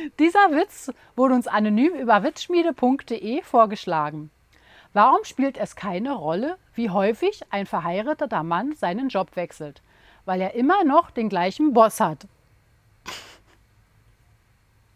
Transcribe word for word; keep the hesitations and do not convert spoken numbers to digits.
Dieser Witz wurde uns anonym über witzschmiede punkt de vorgeschlagen. Warum spielt es keine Rolle, wie häufig ein verheirateter Mann seinen Job wechselt? Weil er immer noch den gleichen Boss hat.